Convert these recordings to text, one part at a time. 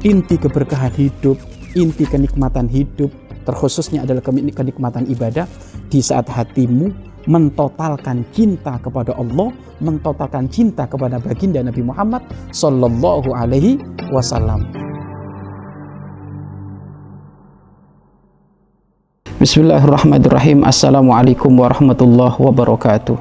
inti keberkahan hidup, inti kenikmatan hidup, terkhususnya adalah kenikmatan ibadah di saat hatimu mentotalkan cinta kepada Allah, mentotalkan cinta kepada baginda Nabi Muhammad Sallallahu Alaihi Wasallam. Bismillahirrahmanirrahim. Assalamualaikum warahmatullahi wabarakatuh.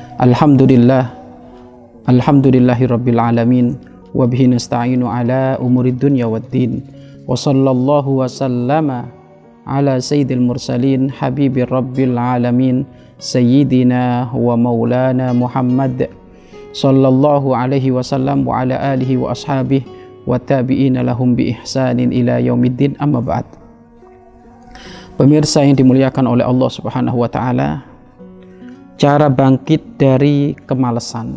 Alhamdulillahirabbil alamin wa bihi nasta'inu ala umurid dunya waddin. Wa sallallahu wa sallama ala sayyidil mursalin habibir rabbil alamin sayyidina wa maulana Muhammad sallallahu alaihi wasallam wa ala alihi wa ashabihi wa tabi'ina lahum bi ihsanin ila yaumiddin, amma ba'd. Pemirsa yang dimuliakan oleh Allah Subhanahu wa taala, cara bangkit dari kemalasan.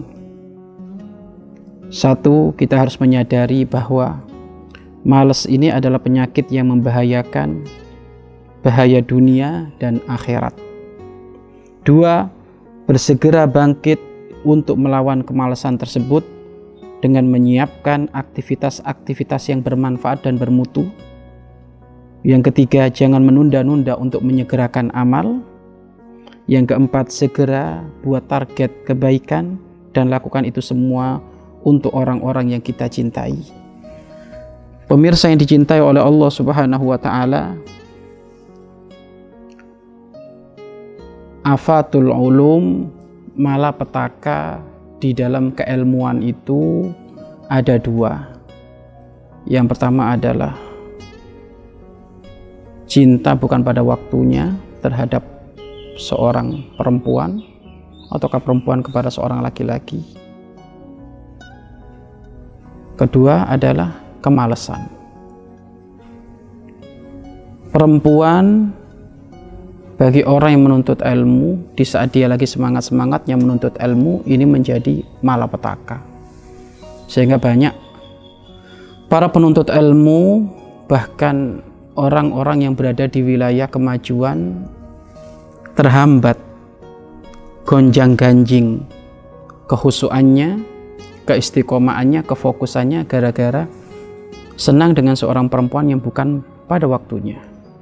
Satu, kita harus menyadari bahwa malas ini adalah penyakit yang membahayakan, bahaya dunia dan akhirat. Dua, bersegera bangkit untuk melawan kemalasan tersebut dengan menyiapkan aktivitas-aktivitas yang bermanfaat dan bermutu. Yang ketiga, jangan menunda-nunda untuk menyegerakan amal. Yang keempat, segera buat target kebaikan dan lakukan itu semua untuk orang-orang yang kita cintai. Pemirsa yang dicintai oleh Allah Subhanahu wa taala, afatul ulum, malapetaka di dalam keilmuan itu ada dua. Yang pertama adalah cinta bukan pada waktunya terhadap seorang perempuan ataukah perempuan kepada seorang laki-laki. Kedua adalah kemalasan. Perempuan bagi orang yang menuntut ilmu, di saat dia lagi semangat-semangatnya menuntut ilmu, ini menjadi malapetaka. Sehingga banyak para penuntut ilmu, bahkan orang-orang yang berada di wilayah kemajuan, terhambat gonjang-ganjing kehusuannya, keistiqomahannya, kefokusannya gara-gara senang dengan seorang perempuan yang bukan pada waktunya.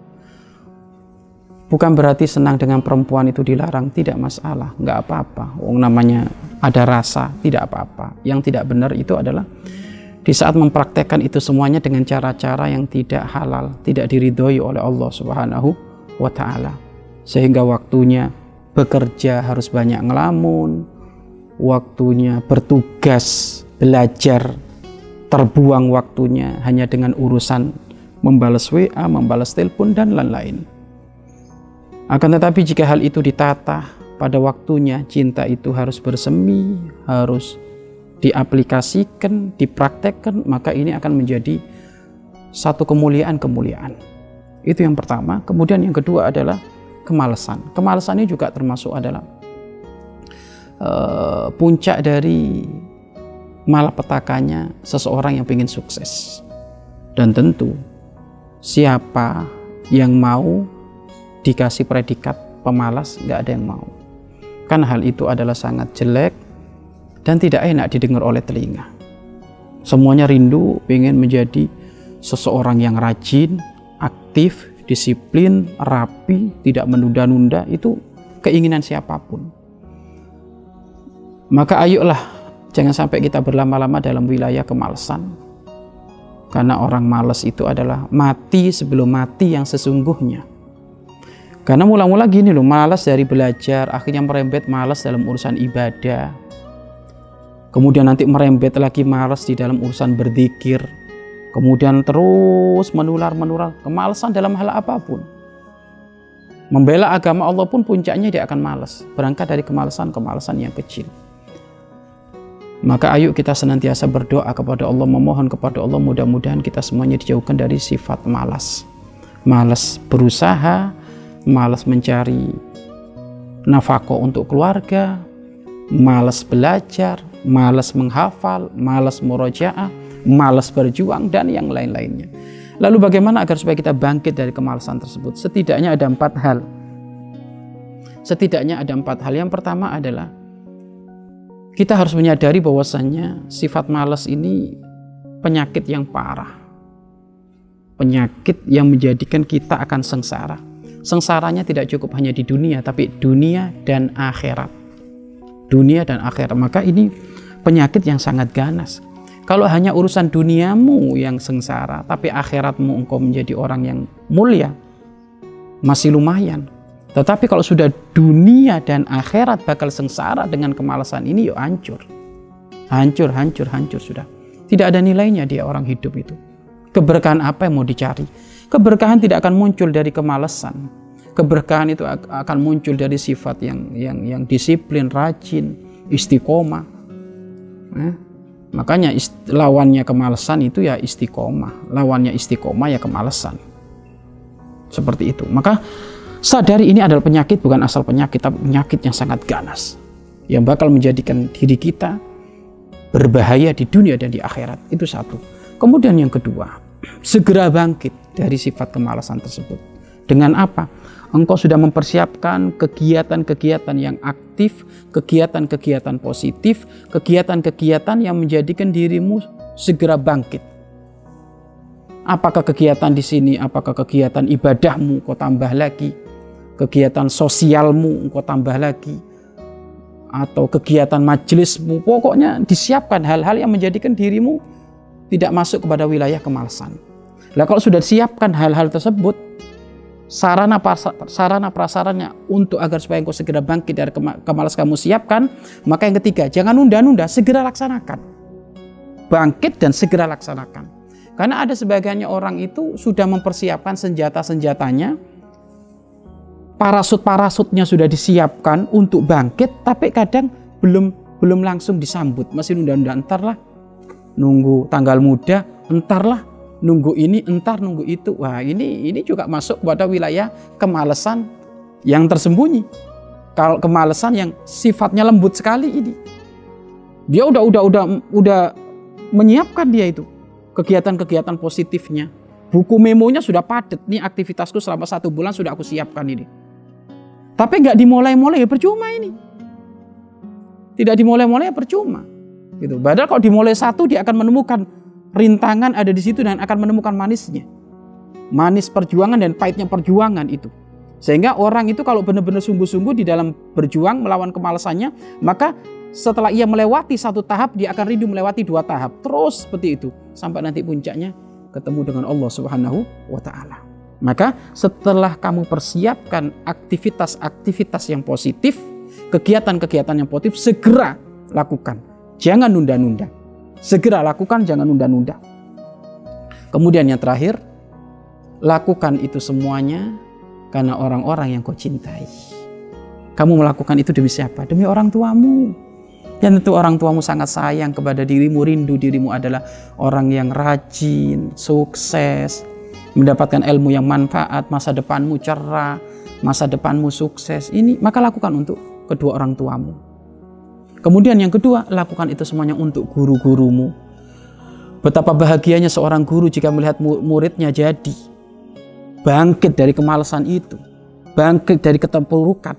Bukan berarti senang dengan perempuan itu dilarang, tidak masalah, nggak apa-apa. Namanya ada rasa, tidak apa-apa. Yang tidak benar itu adalah di saat mempraktekkan itu semuanya dengan cara-cara yang tidak halal, tidak diridhoi oleh Allah Subhanahu wa taala. Sehingga waktunya bekerja harus banyak ngelamun, waktunya bertugas, belajar, terbuang waktunya hanya dengan urusan membalas WA, membalas telepon dan lain-lain. Akan tetapi jika hal itu ditata pada waktunya, cinta itu harus bersemi, harus diaplikasikan, dipraktekkan, maka ini akan menjadi satu kemuliaan-kemuliaan. Itu yang pertama. Kemudian yang kedua adalah kemalasan. Kemalasan ini juga termasuk adalah puncak dari malapetakanya seseorang yang ingin sukses. Dan tentu siapa yang mau dikasih predikat pemalas, nggak ada yang mau. Kan hal itu adalah sangat jelek dan tidak enak didengar oleh telinga. Semuanya rindu ingin menjadi seseorang yang rajin, aktif, disiplin, rapi, tidak menunda-nunda. Itu keinginan siapapun. Maka ayolah, jangan sampai kita berlama-lama dalam wilayah kemalasan. Karena orang malas itu adalah mati sebelum mati yang sesungguhnya. Karena mula-mula gini loh, malas dari belajar, akhirnya merembet malas dalam urusan ibadah. Kemudian nanti merembet lagi malas di dalam urusan berzikir. Kemudian terus menular kemalasan dalam hal apapun. Membela agama Allah pun puncaknya dia akan malas. Berangkat dari kemalasan yang kecil. Maka ayo kita senantiasa berdoa kepada Allah, memohon kepada Allah, mudah-mudahan kita semuanya dijauhkan dari sifat malas. Malas berusaha, malas mencari nafkah untuk keluarga, malas belajar, malas menghafal, malas murojaah, malas berjuang, dan yang lain-lainnya. Lalu bagaimana agar supaya kita bangkit dari kemalasan tersebut? Setidaknya ada 4 hal. Yang pertama adalah kita harus menyadari bahwasannya sifat malas ini penyakit yang parah. penyakit yang menjadikan kita akan sengsara. Sengsaranya tidak cukup hanya di dunia, tapi dunia dan akhirat. Dunia dan akhirat. Maka ini penyakit yang sangat ganas. Kalau hanya urusan duniamu yang sengsara, tapi akhiratmu engkau menjadi orang yang mulia, masih lumayan. Tetapi kalau sudah dunia dan akhirat bakal sengsara dengan kemalasan ini, yuk hancur. Hancur sudah. Tidak ada nilainya dia orang hidup itu. Keberkahan apa yang mau dicari? Keberkahan tidak akan muncul dari kemalasan. Keberkahan itu akan muncul dari sifat yang disiplin, rajin, istiqomah. Makanya lawannya kemalasan itu ya istiqomah. Lawannya istiqomah ya kemalasan. Seperti itu. Maka sadari ini adalah penyakit, bukan asal penyakit, tapi penyakit yang sangat ganas. Yang bakal menjadikan diri kita berbahaya di dunia dan di akhirat. Itu satu. Kemudian yang kedua, segera bangkit dari sifat kemalasan tersebut. Dengan apa? Engkau sudah mempersiapkan kegiatan-kegiatan yang aktif, kegiatan-kegiatan positif, kegiatan-kegiatan yang menjadikan dirimu segera bangkit. Apakah kegiatan di sini? Apakah kegiatan ibadahmu kau tambah lagi? Kegiatan sosialmu kau tambah lagi? Atau kegiatan majelismu? Pokoknya disiapkan hal-hal yang menjadikan dirimu tidak masuk kepada wilayah kemalasan. Lah kalau sudah disiapkan hal-hal tersebut, sarana prasarannya untuk agar supaya engkau segera bangkit dari kemalasan kamu siapkan. Maka yang ketiga, jangan nunda-nunda, segera laksanakan. Bangkit dan segera laksanakan. Karena ada sebagiannya orang itu sudah mempersiapkan senjata-senjatanya, parasut-parasutnya sudah disiapkan untuk bangkit, tapi kadang belum langsung disambut, masih nunda-nunda, entarlah, nunggu tanggal muda, entarlah, nunggu ini, entar nunggu itu. Wah, ini juga masuk kepada wilayah kemalasan yang tersembunyi. Kalau kemalasan yang sifatnya lembut sekali ini. Dia udah menyiapkan dia itu kegiatan-kegiatan positifnya. Buku memonya sudah padat. Nih aktivitasku selama 1 bulan sudah aku siapkan ini. Tapi nggak dimulai-mulai ya percuma ini. Tidak dimulai-mulai ya percuma. Gitu. Padahal kalau dimulai satu dia akan menemukan rintangan ada di situ dan akan menemukan manisnya. Manis perjuangan dan pahitnya perjuangan itu. Sehingga orang itu kalau benar-benar sungguh-sungguh di dalam berjuang melawan kemalasannya, maka setelah ia melewati 1 tahap, dia akan rindu melewati 2 tahap. Terus seperti itu. Sampai nanti puncaknya ketemu dengan Allah Subhanahu wa Ta'ala. Maka setelah kamu persiapkan aktivitas-aktivitas yang positif, kegiatan-kegiatan yang positif, segera lakukan. Jangan nunda-nunda. Segera lakukan, jangan nunda-nunda. Kemudian yang terakhir, lakukan itu semuanya karena orang-orang yang kau cintai. Kamu melakukan itu demi siapa? Demi orang tuamu. Dan tentu orang tuamu sangat sayang kepada dirimu, rindu dirimu adalah orang yang rajin, sukses, mendapatkan ilmu yang manfaat, masa depanmu cerah, masa depanmu sukses. Ini maka lakukan untuk kedua orang tuamu. Kemudian yang kedua, lakukan itu semuanya untuk guru-gurumu. Betapa bahagianya seorang guru jika melihat muridnya jadi bangkit dari kemalasan itu, bangkit dari keterpurukan.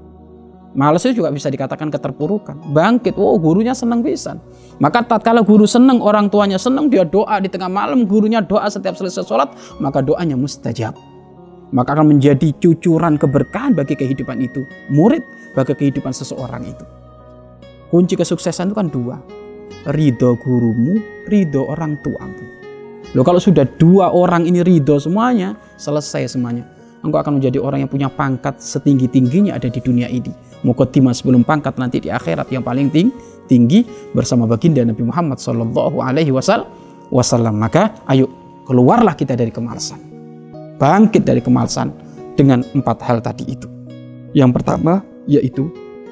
Malas itu juga bisa dikatakan keterpurukan. Bangkit, gurunya senang pisan. Maka tatkala guru senang, orang tuanya senang, dia doa di tengah malam, gurunya doa setiap selesai sholat, maka doanya mustajab. Maka akan menjadi cucuran keberkahan bagi kehidupan itu. Murid bagi kehidupan seseorang itu. Kunci kesuksesan itu kan 2. Ridho gurumu, ridho orang tuamu. Loh, kalau sudah 2 orang ini ridho semuanya, selesai semuanya. Engkau akan menjadi orang yang punya pangkat setinggi-tingginya ada di dunia ini. Muqaddimah sebelum pangkat nanti di akhirat yang paling tinggi bersama baginda Nabi Muhammad sallallahu alaihi wasallam. Maka ayo keluarlah kita dari kemalasan. Bangkit dari kemalasan dengan 4 hal tadi itu. Yang pertama yaitu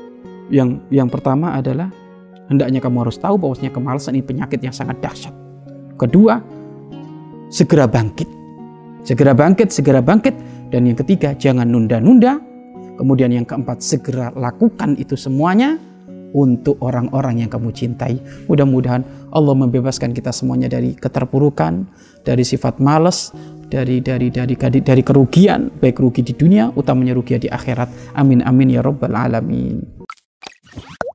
yang pertama adalah hendaknya kamu harus tahu bahwasanya kemalasan ini penyakit yang sangat dahsyat. Kedua, segera bangkit. Segera bangkit. Dan yang ketiga, jangan nunda-nunda. Kemudian yang keempat, segera lakukan itu semuanya untuk orang-orang yang kamu cintai. Mudah-mudahan Allah membebaskan kita semuanya dari keterpurukan, dari sifat malas, dari kerugian, baik rugi di dunia, utamanya rugi di akhirat. Amin amin ya rabbal alamin.